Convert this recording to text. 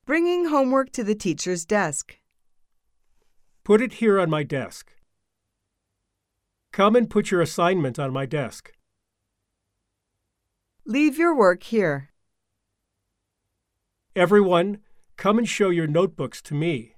Bringing homework to the teacher's desk. Put it here on my desk. Come and put your assignment on my desk. Leave your work here. Everyone, come and show your notebooks to me.